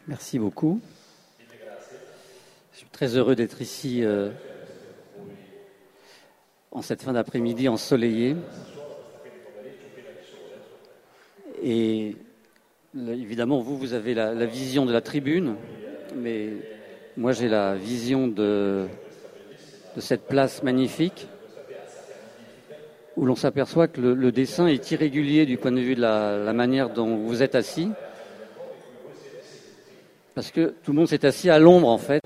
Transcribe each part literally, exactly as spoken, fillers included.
Merci beaucoup. Je suis très heureux d'être ici euh, en cette fin d'après-midi ensoleillée. Et là, évidemment, vous, vous avez la, la vision de la tribune, mais moi, j'ai la vision de, de cette place magnifique où l'on s'aperçoit que le, le dessin est irrégulier du point de vue de la, la manière dont vous êtes assis. Parce que tout le monde s'est assis à l'ombre, en fait.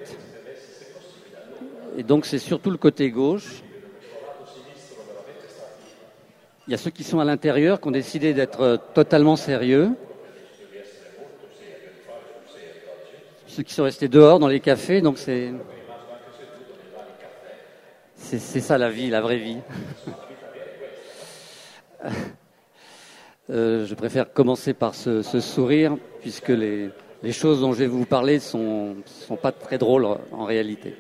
Et donc, c'est surtout le côté gauche. Il y a ceux qui sont à l'intérieur, qui ont décidé d'être totalement sérieux. Ceux qui sont restés dehors, dans les cafés. Donc, c'est, c'est, c'est ça la vie, la vraie vie. euh, je préfère commencer par ce, ce sourire, puisque les... Les choses dont je vais vous parler ne sont, sont pas très drôles en réalité.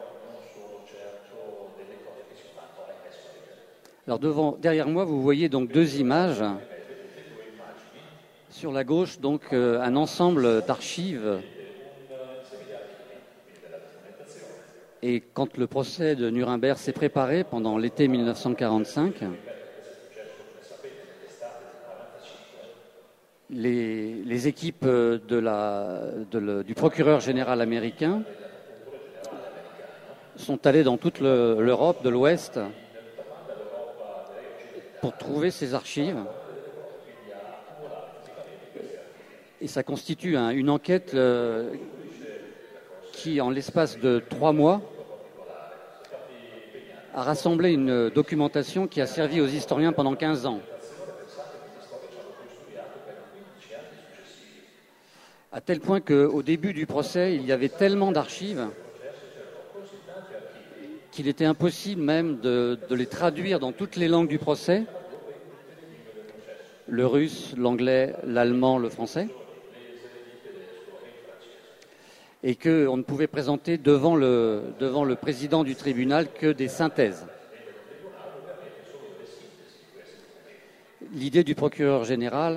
Alors devant, derrière moi, vous voyez donc deux images. Sur la gauche, donc, euh, un ensemble d'archives. Et quand le procès de Nuremberg s'est préparé pendant l'été mille neuf cent quarante-cinq, Les, les équipes de la, de le, du procureur général américain sont allées dans toute le, l'Europe de l'Ouest pour trouver ces archives. Et ça constitue un, une enquête euh, qui, en l'espace de trois mois, a rassemblé une documentation qui a servi aux historiens pendant quinze ans. À tel point qu'au début du procès, il y avait tellement d'archives qu'il était impossible même de, de les traduire dans toutes les langues du procès, le russe, l'anglais, l'allemand, le français, et qu'on ne pouvait présenter devant le, devant le président du tribunal que des synthèses. L'idée du procureur général,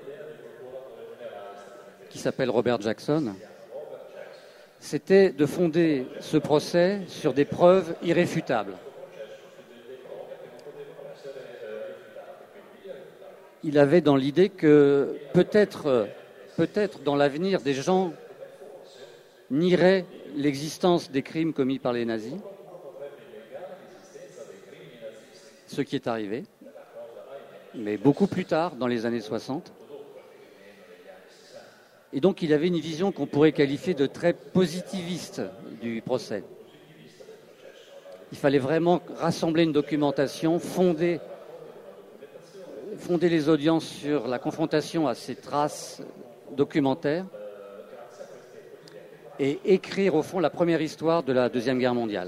qui s'appelle Robert Jackson, c'était de fonder ce procès sur des preuves irréfutables. Il avait dans l'idée que peut-être, peut-être dans l'avenir, des gens nieraient l'existence des crimes commis par les nazis, ce qui est arrivé, mais beaucoup plus tard, dans les années soixante. Et donc, il avait une vision qu'on pourrait qualifier de très positiviste du procès. Il fallait vraiment rassembler une documentation, fonder, fonder les audiences sur la confrontation à ces traces documentaires et écrire, au fond, la première histoire de la Deuxième Guerre mondiale.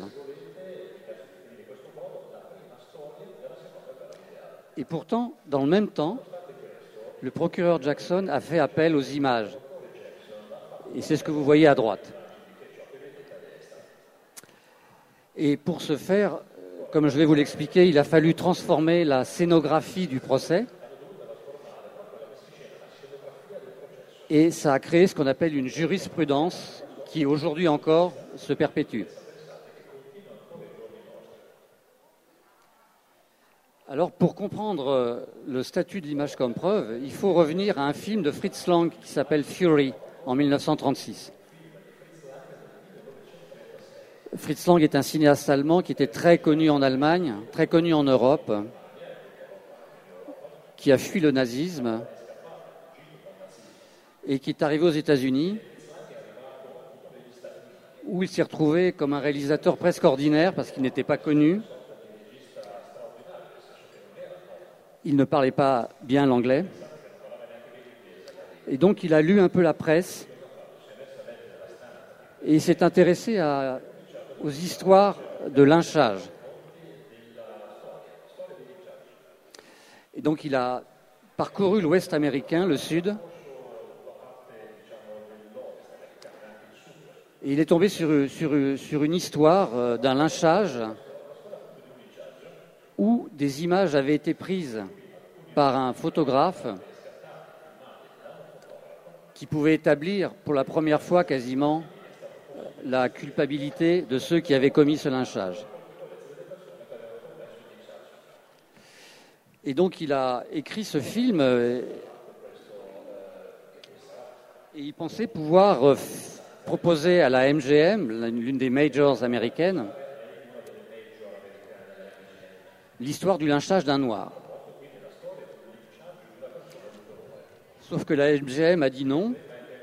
Et pourtant, dans le même temps, le procureur Jackson a fait appel aux images. Et c'est ce que vous voyez à droite. Et pour ce faire, comme je vais vous l'expliquer, il a fallu transformer la scénographie du procès. Et ça a créé ce qu'on appelle une jurisprudence qui, aujourd'hui encore, se perpétue. Alors, pour comprendre le statut de l'image comme preuve, il faut revenir à un film de Fritz Lang qui s'appelle Fury, en mille neuf cent trente-six. Fritz Lang est un cinéaste allemand qui était très connu en Allemagne, très connu en Europe, qui a fui le nazisme et qui est arrivé aux États-Unis, où il s'est retrouvé comme un réalisateur presque ordinaire parce qu'il n'était pas connu. Il ne parlait pas bien l'anglais. Et donc, il a lu un peu la presse et il s'est intéressé à, aux histoires de lynchage. Et donc, il a parcouru l'Ouest américain, le Sud, et il est tombé sur, sur, sur une histoire d'un lynchage où des images avaient été prises par un photographe qui pouvait établir pour la première fois quasiment la culpabilité de ceux qui avaient commis ce lynchage. Et donc il a écrit ce film et il pensait pouvoir proposer à la M G M, l'une des majors américaines, l'histoire du lynchage d'un noir. Sauf que la M G M a dit non,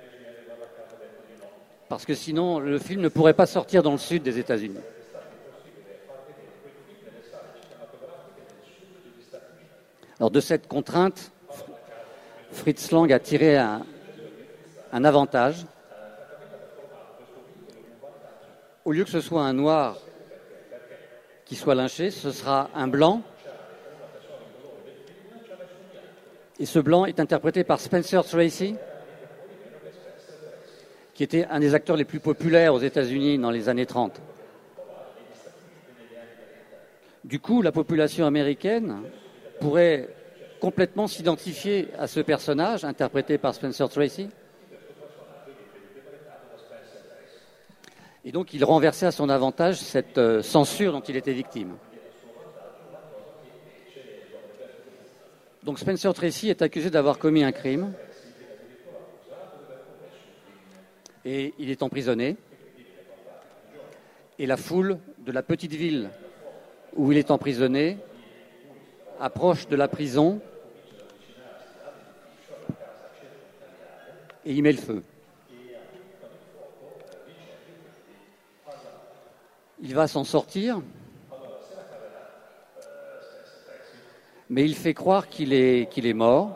parce que sinon le film ne pourrait pas sortir dans le sud des États-Unis. Alors de cette contrainte, Fritz Lang a tiré un, un avantage. Au lieu que ce soit un noir qui soit lynché, ce sera un blanc. Et ce blanc est interprété par Spencer Tracy, qui était un des acteurs les plus populaires aux États-Unis dans les années trente. Du coup, la population américaine pourrait complètement s'identifier à ce personnage interprété par Spencer Tracy. Et donc, il renversait à son avantage cette euh, censure dont il était victime. Donc, Spencer Tracy est accusé d'avoir commis un crime et il est emprisonné. Et la foule de la petite ville où il est emprisonné approche de la prison et y met le feu. Il va s'en sortir, mais il fait croire qu'il est, qu'il est mort.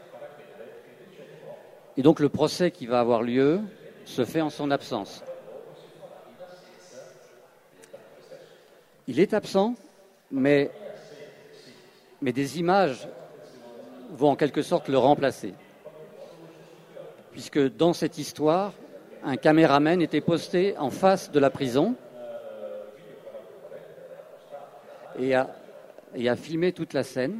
Et donc le procès qui va avoir lieu se fait en son absence. Il est absent, mais, mais des images vont en quelque sorte le remplacer. Puisque dans cette histoire, un caméraman était posté en face de la prison et a, et a filmé toute la scène,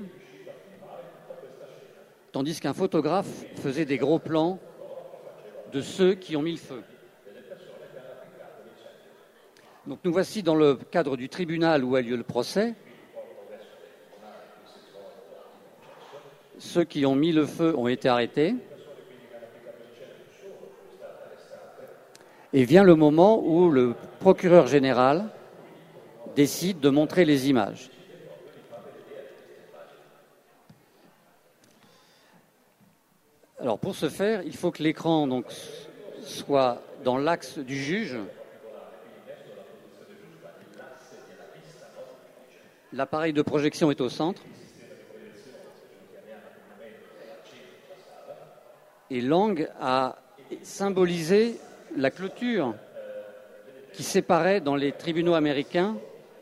tandis qu'un photographe faisait des gros plans de ceux qui ont mis le feu. Donc nous voici dans le cadre du tribunal où a lieu le procès. Ceux qui ont mis le feu ont été arrêtés. Et vient le moment où le procureur général décide de montrer les images. Alors pour ce faire, il faut que l'écran donc soit dans l'axe du juge. L'appareil de projection est au centre. Et Lang a symbolisé la clôture qui séparait dans les tribunaux américains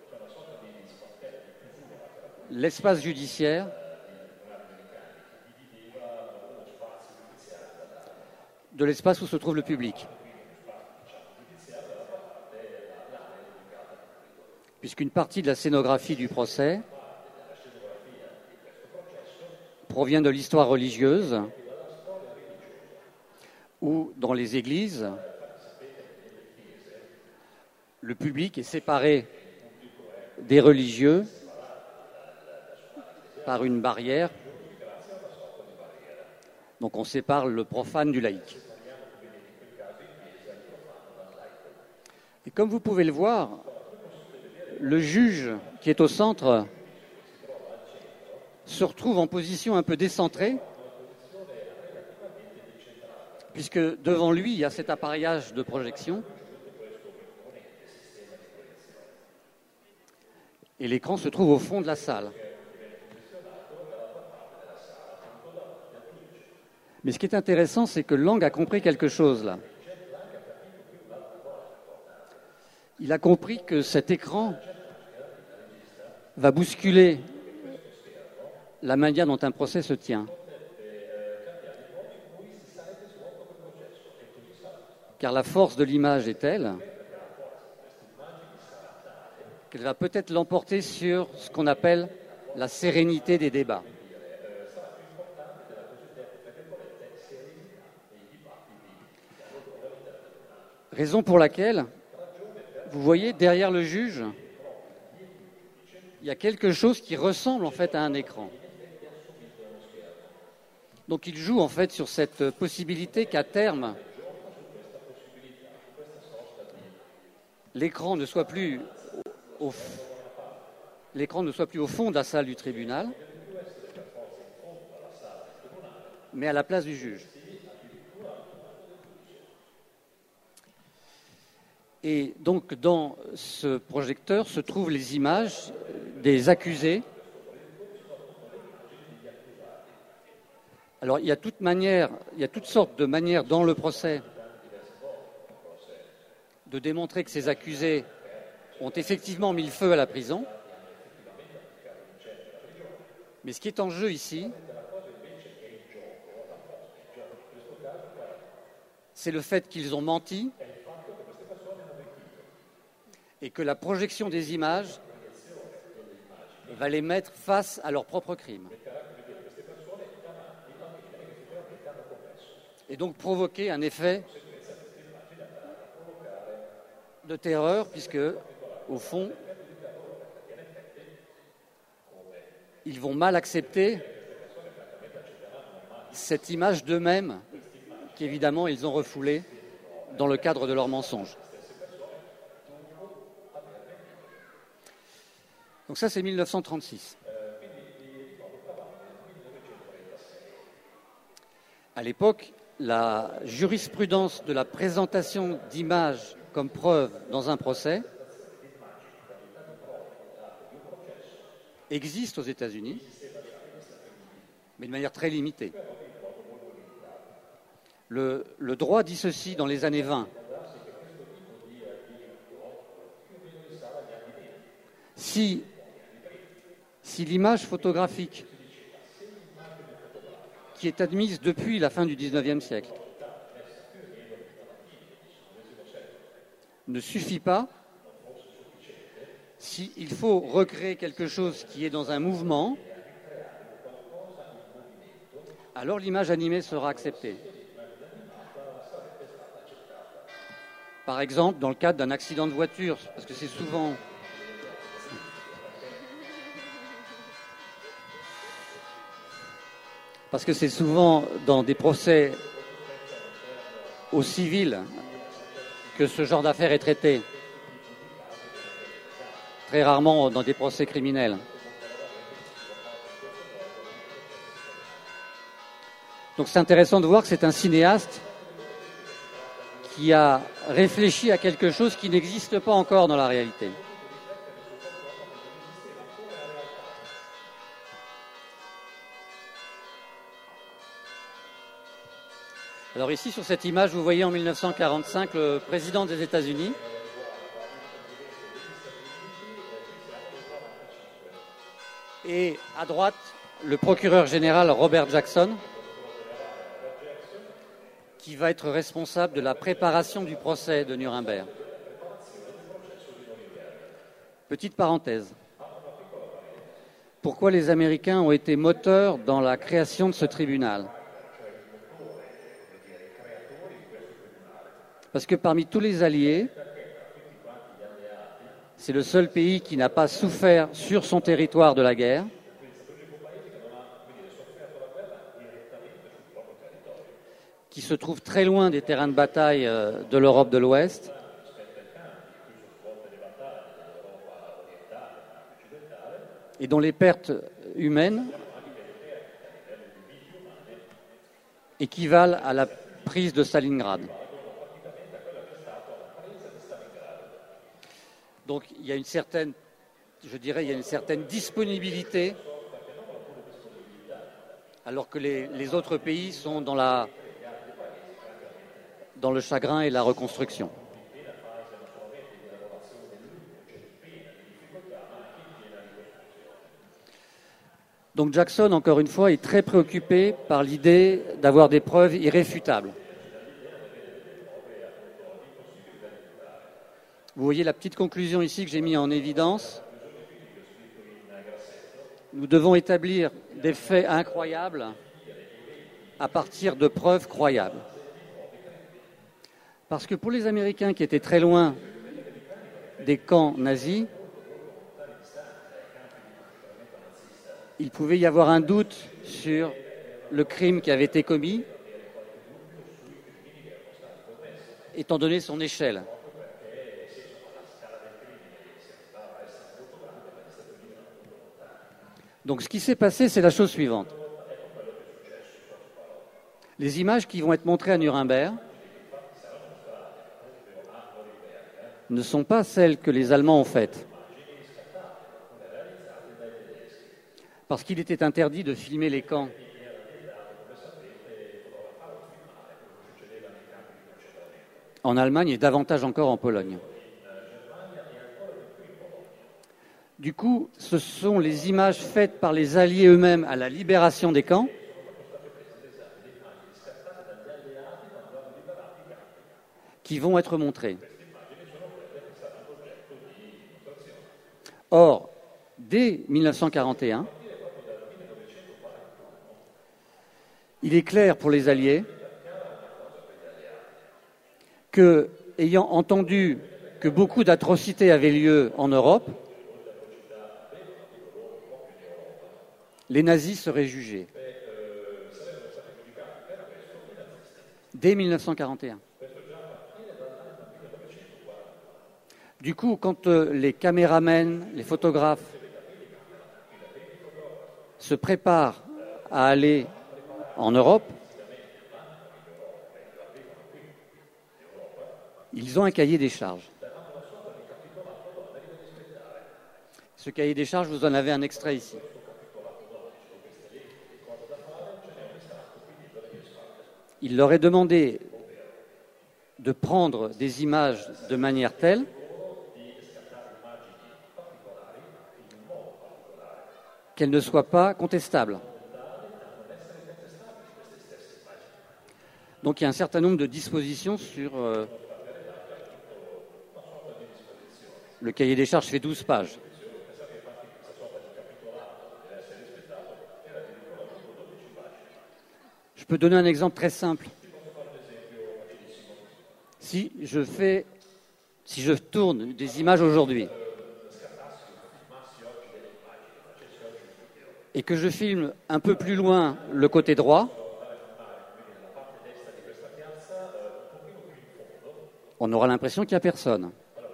l'espace judiciaire de l'espace où se trouve le public. Puisqu'une partie de la scénographie du procès provient de l'histoire religieuse, où dans les églises, le public est séparé des religieux par une barrière. Donc on sépare le profane du laïque. Et comme vous pouvez le voir, le juge qui est au centre se retrouve en position un peu décentrée, puisque devant lui, il y a cet appareillage de projection. Et l'écran se trouve au fond de la salle. Mais ce qui est intéressant, c'est que Lang a compris quelque chose là. Il a compris que cet écran va bousculer la manière dont un procès se tient. Car la force de l'image est telle qu'elle va peut-être l'emporter sur ce qu'on appelle la sérénité des débats. Raison pour laquelle, vous voyez, derrière le juge, il y a quelque chose qui ressemble en fait à un écran. Donc il joue en fait sur cette possibilité qu'à terme, l'écran ne soit plus au, l'écran ne soit plus au fond de la salle du tribunal, mais à la place du juge. Et donc dans ce projecteur se trouvent les images des accusés. Alors il y a toute manière, il y a toutes sortes de manières dans le procès de démontrer que ces accusés ont effectivement mis le feu à la prison. Mais ce qui est en jeu ici, c'est le fait qu'ils ont menti et que la projection des images va les mettre face à leurs propres crimes. Et donc provoquer un effet de terreur, puisque, au fond, ils vont mal accepter cette image d'eux-mêmes qu'évidemment ils ont refoulée dans le cadre de leur mensonge. Donc ça, c'est mille neuf cent trente-six. À l'époque, la jurisprudence de la présentation d'images comme preuve dans un procès existe aux États-Unis, mais de manière très limitée. Le, le droit dit ceci dans les années vingt. Si, si l'image photographique qui est admise depuis la fin du dix-neuvième siècle ne suffit pas, s'il faut recréer quelque chose qui est dans un mouvement, alors l'image animée sera acceptée. Par exemple, dans le cadre d'un accident de voiture, parce que c'est souvent... Parce que c'est souvent dans des procès au civil que ce genre d'affaire est traité. Très rarement dans des procès criminels. Donc c'est intéressant de voir que c'est un cinéaste qui a réfléchi à quelque chose qui n'existe pas encore dans la réalité. Alors ici, sur cette image, vous voyez en mille neuf cent quarante-cinq le président des États-Unis. Et à droite, le procureur général Robert Jackson, qui va être responsable de la préparation du procès de Nuremberg. Petite parenthèse. Pourquoi les Américains ont été moteurs dans la création de ce tribunal ? Parce que parmi tous les alliés, c'est le seul pays qui n'a pas souffert sur son territoire de la guerre. Qui se trouve très loin des terrains de bataille de l'Europe de l'Ouest. Et dont les pertes humaines équivalent à la prise de Stalingrad. Donc il y a une certaine, je dirais, il y a une certaine disponibilité, alors que les, les autres pays sont dans la, dans le chagrin et la reconstruction. Donc Jackson, encore une fois, est très préoccupé par l'idée d'avoir des preuves irréfutables. Vous voyez la petite conclusion ici que j'ai mis en évidence. Nous devons établir des faits incroyables à partir de preuves croyables. Parce que pour les Américains qui étaient très loin des camps nazis, il pouvait y avoir un doute sur le crime qui avait été commis, étant donné son échelle. Donc ce qui s'est passé, c'est la chose suivante. Les images qui vont être montrées à Nuremberg ne sont pas celles que les Allemands ont faites. Parce qu'il était interdit de filmer les camps. En Allemagne et davantage encore en Pologne. Du coup, ce sont les images faites par les Alliés eux-mêmes à la libération des camps qui vont être montrées. Or, dès mille neuf cent quarante et un, il est clair pour les Alliés que, ayant entendu que beaucoup d'atrocités avaient lieu en Europe, les nazis seraient jugés. Dès mille neuf cent quarante et un. Du coup, quand les caméramens, les photographes se préparent à aller en Europe, ils ont un cahier des charges. Ce cahier des charges, vous en avez un extrait ici. Il leur est demandé de prendre des images de manière telle qu'elles ne soient pas contestables. Donc il y a un certain nombre de dispositions sur... Euh, le cahier des charges fait douze pages. Je peux donner un exemple très simple. Si je fais, si je tourne des images aujourd'hui et que je filme un peu plus loin le côté droit, on aura l'impression qu'il n'y a personne.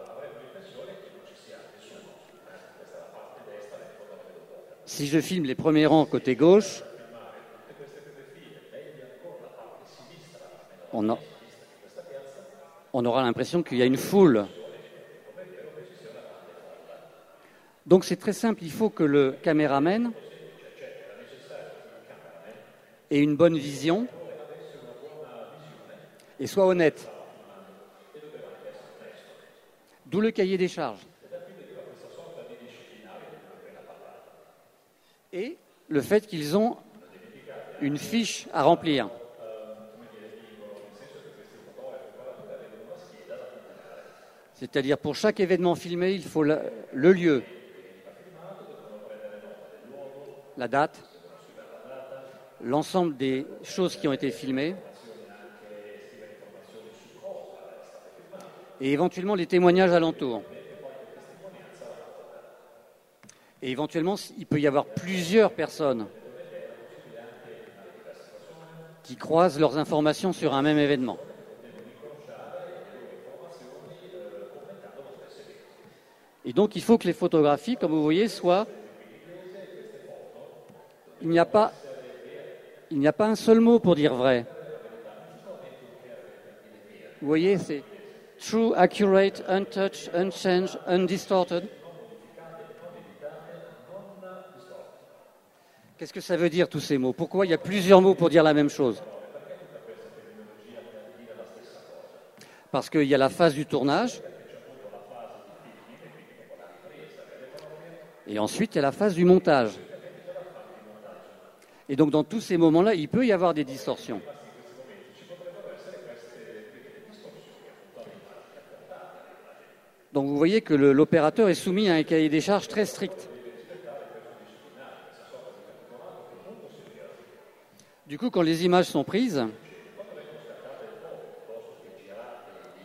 Si je filme les premiers rangs côté gauche, on, a, on aura l'impression qu'il y a une foule. Donc c'est très simple, il faut que le caméraman ait une bonne vision et soit honnête. D'où le cahier des charges. Et le fait qu'ils ont une fiche à remplir. C'est-à-dire pour chaque événement filmé, il faut le, le lieu, la date, l'ensemble des choses qui ont été filmées et éventuellement les témoignages alentours. Et éventuellement, il peut y avoir plusieurs personnes qui croisent leurs informations sur un même événement. Et donc, il faut que les photographies, comme vous voyez, soient... Il n'y a pas, il n'y a pas un seul mot pour dire vrai. Vous voyez, c'est true, accurate, untouched, unchanged, undistorted. Qu'est-ce que ça veut dire, tous ces mots? Pourquoi il y a plusieurs mots pour dire la même chose? Parce qu'il y a la phase du tournage, et ensuite il y a la phase du montage. Et donc dans tous ces moments-là, il peut y avoir des distorsions. Donc vous voyez que le, l'opérateur est soumis à un cahier des charges très strict. Du coup, quand les images sont prises,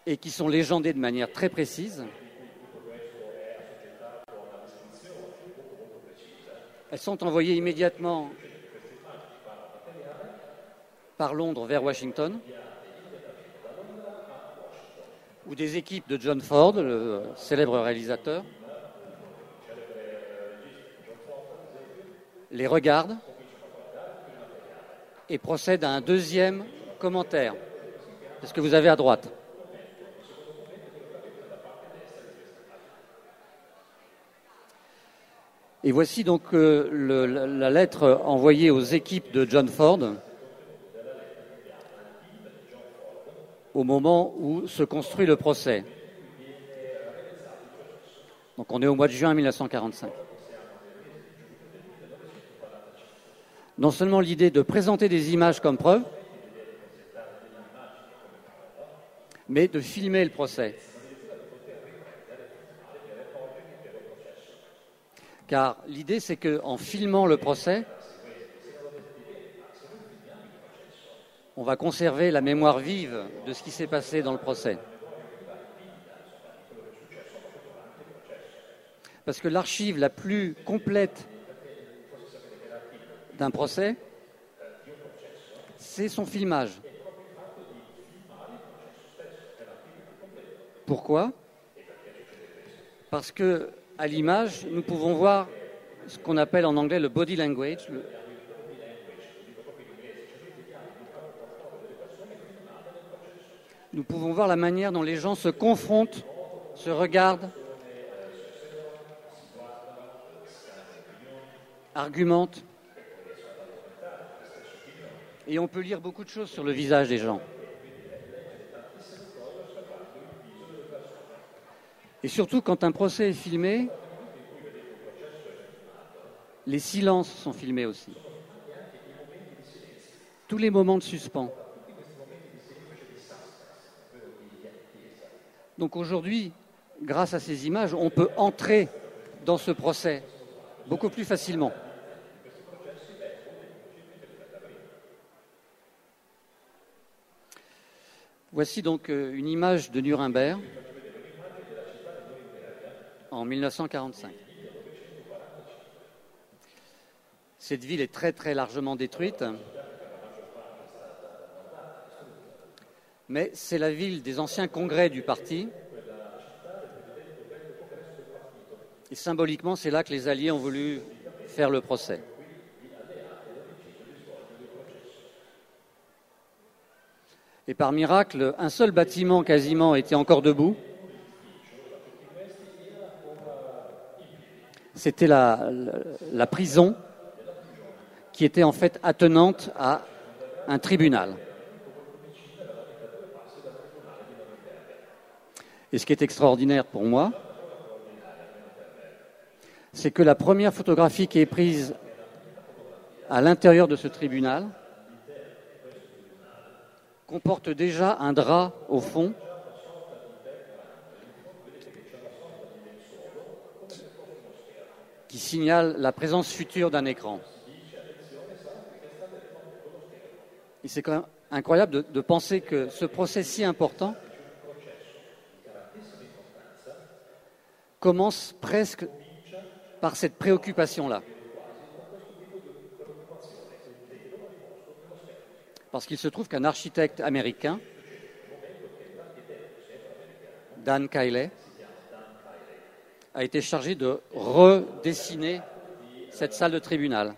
et qui sont légendées de manière très précise. Elles sont envoyées immédiatement par Londres vers Washington, où des équipes de John Ford, le célèbre réalisateur, les regardent et procèdent à un deuxième commentaire. C'est ce que vous avez à droite. Et voici donc euh, le, la, la lettre envoyée aux équipes de John Ford au moment où se construit le procès. Donc on est au mois de juin mille neuf cent quarante-cinq. Non seulement l'idée de présenter des images comme preuve, mais de filmer le procès. Car l'idée, c'est qu'en filmant le procès, on va conserver la mémoire vive de ce qui s'est passé dans le procès. Parce que l'archive la plus complète d'un procès, c'est son filmage. Pourquoi ? Parce que à l'image, nous pouvons voir ce qu'on appelle en anglais le body language. Le... Nous pouvons voir la manière dont les gens se confrontent, se regardent, argumentent. Et on peut lire beaucoup de choses sur le visage des gens. Et surtout, quand un procès est filmé, les silences sont filmés aussi. Tous les moments de suspens. Donc aujourd'hui, grâce à ces images, on peut entrer dans ce procès beaucoup plus facilement. Voici donc une image de Nuremberg en mille neuf cent quarante-cinq. Cette ville est très très largement détruite, mais c'est la ville des anciens congrès du parti. Et symboliquement, c'est là que les Alliés ont voulu faire le procès. Et par miracle, un seul bâtiment quasiment était encore debout. C'était la, la, la prison qui était en fait attenante à un tribunal. Et ce qui est extraordinaire pour moi, c'est que la première photographie qui est prise à l'intérieur de ce tribunal comporte déjà un drap au fond qui signale la présence future d'un écran. Et c'est quand même incroyable de, de penser que ce procès si important commence presque par cette préoccupation-là. Parce qu'il se trouve qu'un architecte américain, Dan Kiley, a été chargé de redessiner cette salle de tribunal.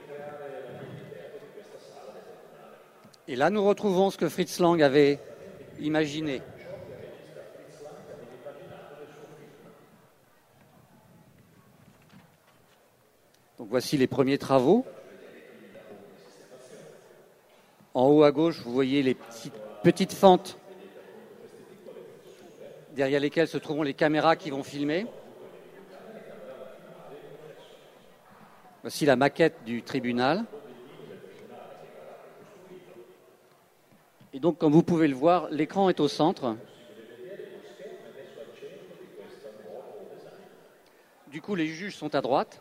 Et là, nous retrouvons ce que Fritz Lang avait imaginé. Donc voici les premiers travaux. En haut à gauche, vous voyez les petites, petites fentes derrière lesquelles se trouveront les caméras qui vont filmer. Voici la maquette du tribunal. Et donc, comme vous pouvez le voir, l'écran est au centre. Du coup, les juges sont à droite.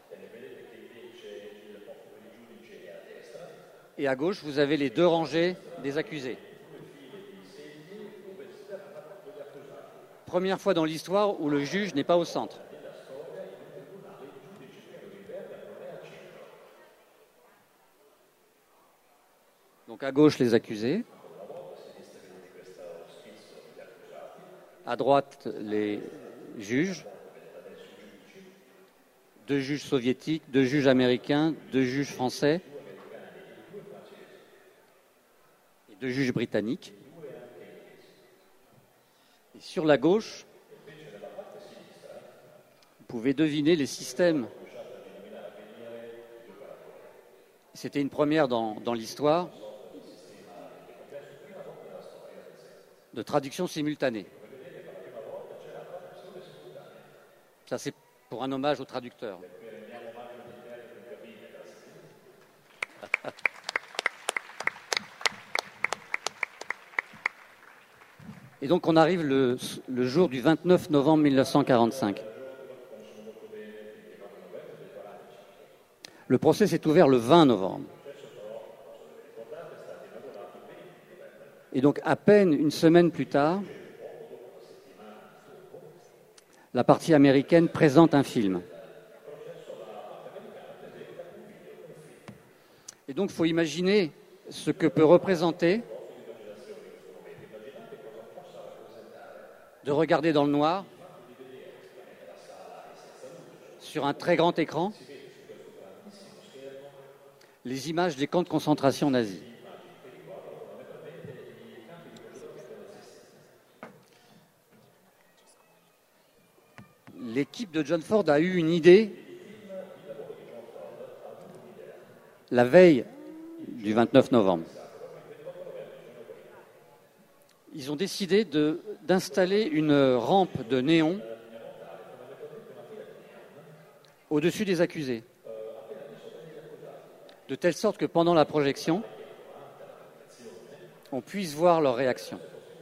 Et à gauche, vous avez les deux rangées des accusés. première fois dans l'histoire où le juge n'est pas au centre. Donc à gauche, les accusés. À droite, les juges. Deux juges soviétiques, deux juges américains, deux juges français et deux juges britanniques. Et sur la gauche, vous pouvez deviner les systèmes. C'était une première dans, dans l'histoire de traduction simultanée. Ça, c'est pour un hommage aux traducteurs. Et donc on arrive le, le jour du vingt-neuf novembre mille neuf cent quarante-cinq. Le procès s'est ouvert le vingt novembre. Et donc à peine une semaine plus tard, la partie américaine présente un film. Et donc, il faut imaginer ce que peut représenter de regarder dans le noir, sur un très grand écran, les images des camps de concentration nazis. L'équipe de John Ford a eu une idée la veille du vingt-neuf novembre. Ils ont décidé de, d'installer une rampe de néon au-dessus des accusés, de telle sorte que pendant la projection, on puisse voir leur réaction.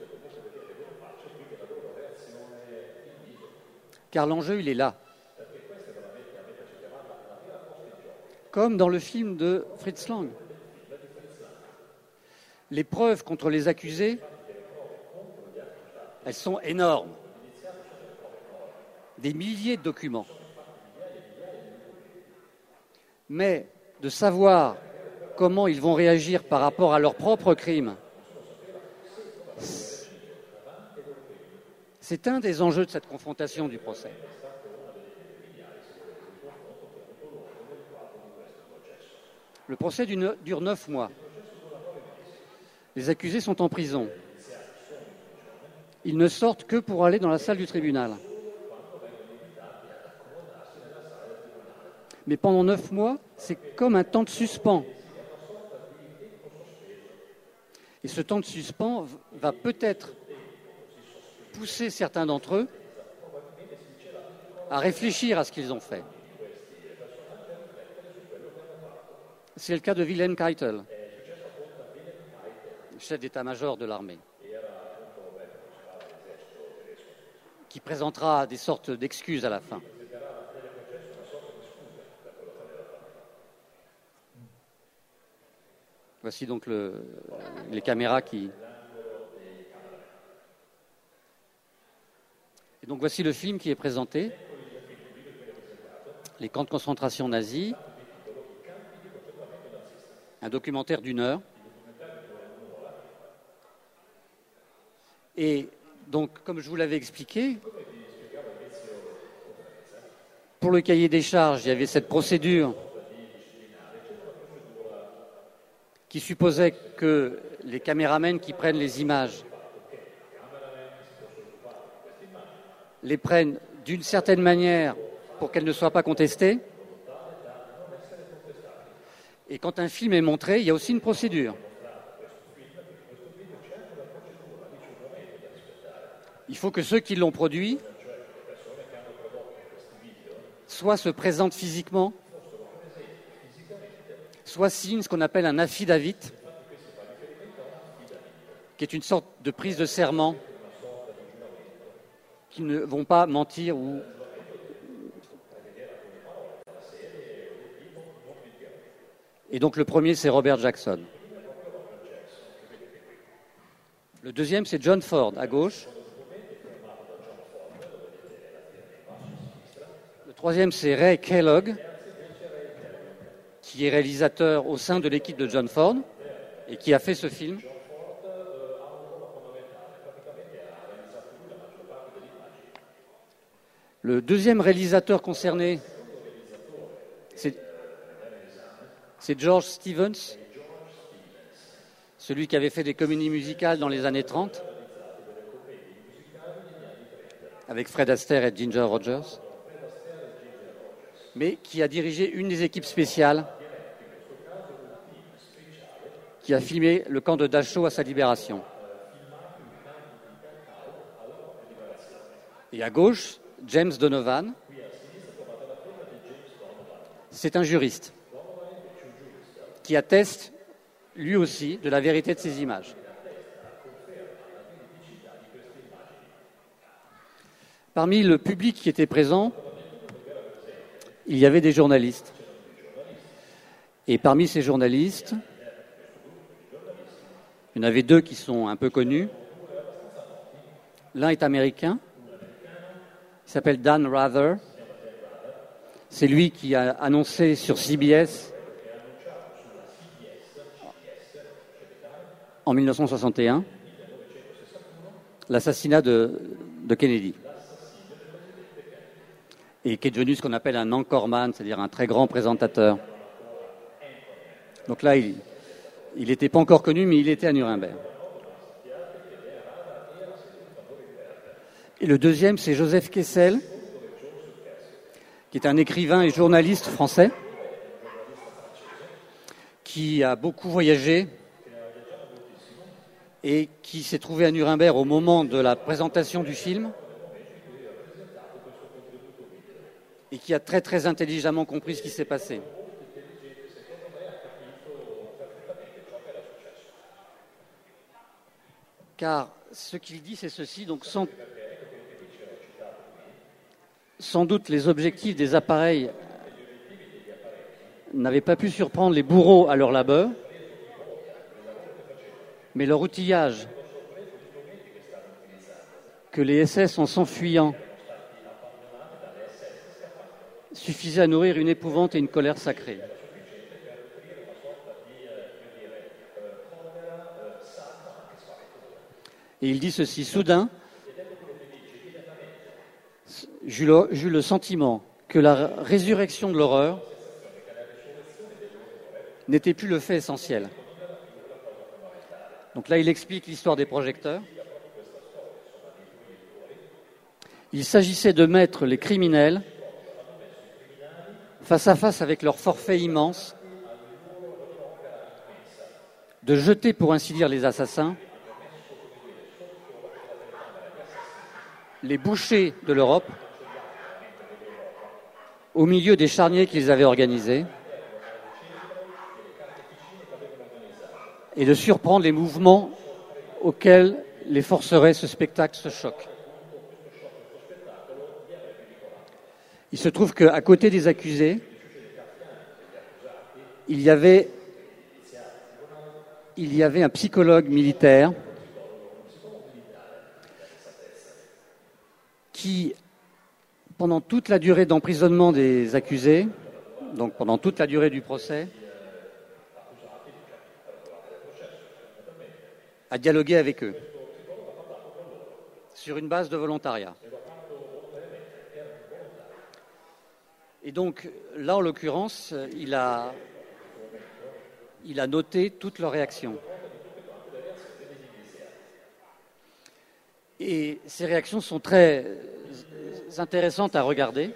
Car l'enjeu, il est là. Comme dans le film de Fritz Lang. Les preuves contre les accusés, elles sont énormes. Des milliers de documents. Mais de savoir comment ils vont réagir par rapport à leurs propres crimes, c'est un des enjeux de cette confrontation du procès. Le procès dure neuf mois. Les accusés sont en prison. Ils ne sortent que pour aller dans la salle du tribunal. Mais pendant neuf mois, c'est comme un temps de suspens. Et ce temps de suspens va peut-être pousser certains d'entre eux à réfléchir à ce qu'ils ont fait. C'est le cas de Wilhelm Keitel, chef d'état-major de l'armée, qui présentera des sortes d'excuses à la fin. Voici donc le, les caméras qui... Et donc voici le film qui est présenté. Les camps de concentration nazis. Un documentaire d'une heure. Et donc, comme je vous l'avais expliqué, pour le cahier des charges, il y avait cette procédure qui supposait que les caméramens qui prennent les images les prennent d'une certaine manière pour qu'elles ne soient pas contestées. Et quand un film est montré, il y a aussi une procédure. Il faut que ceux qui l'ont produit soit se présentent physiquement, soit signent ce qu'on appelle un affidavit, qui est une sorte de prise de serment, qui ne vont pas mentir ou... Et donc le premier, c'est Robert Jackson. Le deuxième, c'est John Ford, à gauche. Troisième, c'est Ray Kellogg, qui est réalisateur au sein de l'équipe de John Ford et qui a fait ce film. Le deuxième réalisateur concerné, c'est, c'est George Stevens, celui qui avait fait des comédies musicales dans les années trente, avec Fred Astaire et Ginger Rogers, mais qui a dirigé une des équipes spéciales qui a filmé le camp de Dachau à sa libération. Et à gauche, James Donovan, c'est un juriste qui atteste lui aussi de la vérité de ces images. Parmi le public qui était présent, il y avait des journalistes. Et parmi ces journalistes, il y en avait deux qui sont un peu connus. L'un est américain, il s'appelle Dan Rather. C'est lui qui a annoncé sur C B S en mille neuf cent soixante et un l'assassinat de, de Kennedy. Et qui est devenu ce qu'on appelle un anchorman, c'est-à-dire un très grand présentateur. Donc là, il n'était pas encore connu, mais il était à Nuremberg. Et le deuxième, c'est Joseph Kessel, qui est un écrivain et journaliste français, qui a beaucoup voyagé et qui s'est trouvé à Nuremberg au moment de la présentation du film et qui a très très intelligemment compris ce qui s'est passé. Car ce qu'il dit, c'est ceci, donc sans, sans doute les objectifs des appareils n'avaient pas pu surprendre les bourreaux à leur labeur, mais leur outillage que les S S, en s'enfuyant, suffisait à nourrir une épouvante et une colère sacrée. Et il dit ceci, soudain, j'eus le, j'eus le sentiment que la résurrection de l'horreur n'était plus le fait essentiel. Donc là, il explique l'histoire des projecteurs. Il s'agissait de mettre les criminels face à face avec leur forfait immense, de jeter, pour ainsi dire, les assassins, les bouchers de l'Europe, au milieu des charniers qu'ils avaient organisés, et de surprendre les mouvements auxquels les forcerait ce spectacle, ce choc. Il se trouve qu'à côté des accusés, il y avait, il y avait un psychologue militaire qui, pendant toute la durée d'emprisonnement des accusés, donc pendant toute la durée du procès, a dialogué avec eux sur une base de volontariat. Et donc, là, en l'occurrence, il a, il a noté toutes leurs réactions. Et ces réactions sont très intéressantes à regarder.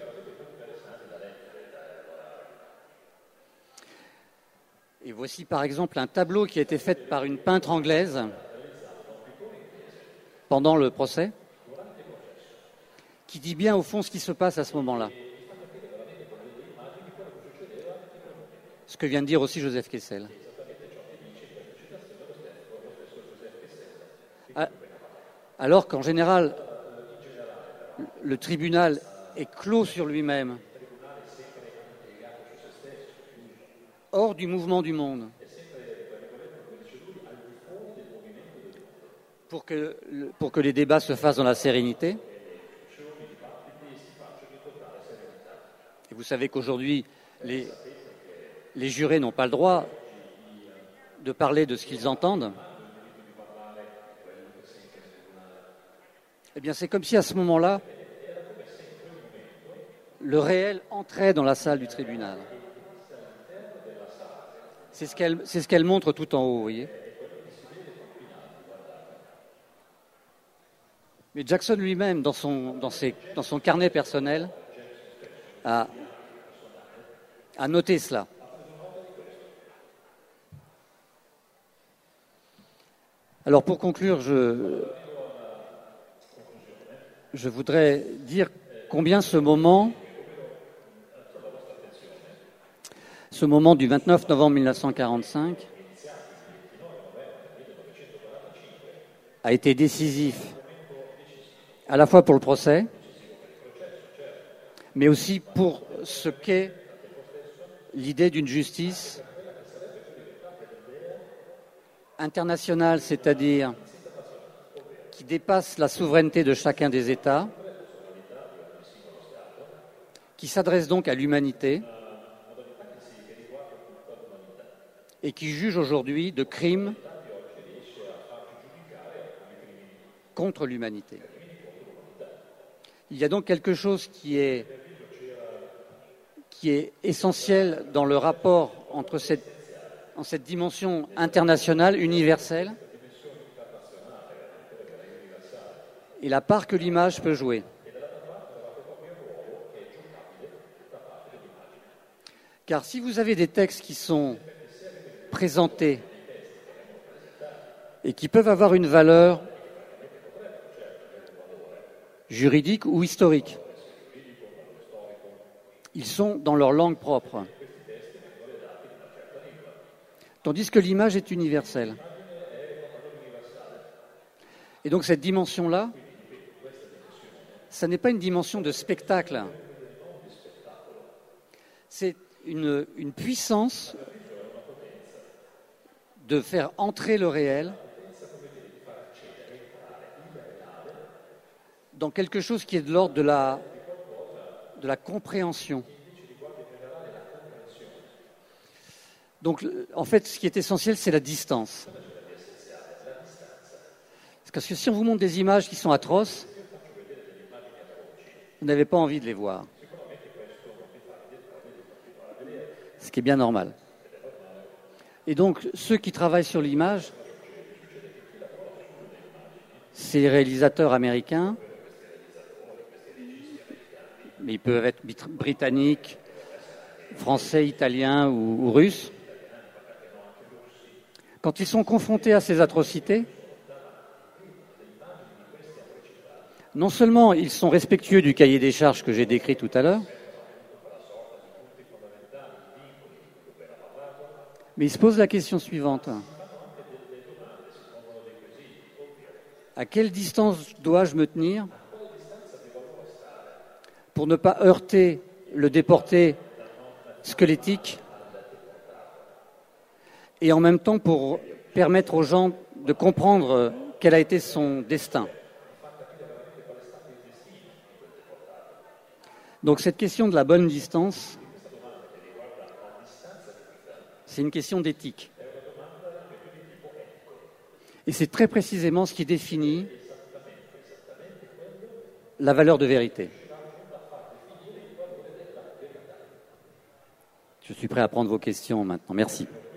Et voici par exemple un tableau qui a été fait par une peintre anglaise pendant le procès, qui dit bien au fond ce qui se passe à ce moment-là. Ce que vient de dire aussi Joseph Kessel. Alors qu'en général, le tribunal est clos sur lui-même, hors du mouvement du monde, pour que, pour que les débats se fassent dans la sérénité. Et vous savez qu'aujourd'hui, les, les jurés n'ont pas le droit de parler de ce qu'ils entendent. Eh bien, c'est comme si à ce moment-là, le réel entrait dans la salle du tribunal. C'est ce qu'elle, c'est ce qu'elle montre tout en haut, vous voyez. Mais Jackson lui-même, dans son, dans ses, dans son carnet personnel, a, a noté cela. Alors pour conclure, je, je voudrais dire combien ce moment, ce moment du vingt-neuf novembre mille neuf cent quarante-cinq a été décisif à la fois pour le procès, mais aussi pour ce qu'est l'idée d'une justice internationale, c'est-à-dire qui dépasse la souveraineté de chacun des États, qui s'adresse donc à l'humanité et qui juge aujourd'hui de crimes contre l'humanité. Il y a donc quelque chose qui est, qui est essentiel dans le rapport entre cette, en cette dimension internationale, universelle, et la part que l'image peut jouer. Car si vous avez des textes qui sont présentés et qui peuvent avoir une valeur juridique ou historique, ils sont dans leur langue propre. Tandis que l'image est universelle. Et donc cette dimension-là, ça n'est pas une dimension de spectacle. C'est une, une puissance de faire entrer le réel dans quelque chose qui est de l'ordre de la, de la compréhension. Donc, en fait, ce qui est essentiel, c'est la distance. Parce que si on vous montre des images qui sont atroces, vous n'avez pas envie de les voir. Ce qui est bien normal. Et donc, ceux qui travaillent sur l'image, c'est les réalisateurs américains, mais ils peuvent être britanniques, français, italiens ou, ou russes. Quand ils sont confrontés à ces atrocités, non seulement ils sont respectueux du cahier des charges que j'ai décrit tout à l'heure, mais ils se posent la question suivante. À quelle distance dois-je me tenir pour ne pas heurter le déporté squelettique et en même temps pour permettre aux gens de comprendre quel a été son destin. Donc cette question de la bonne distance, c'est une question d'éthique. Et c'est très précisément ce qui définit la valeur de vérité. Je suis prêt à prendre vos questions maintenant. Merci.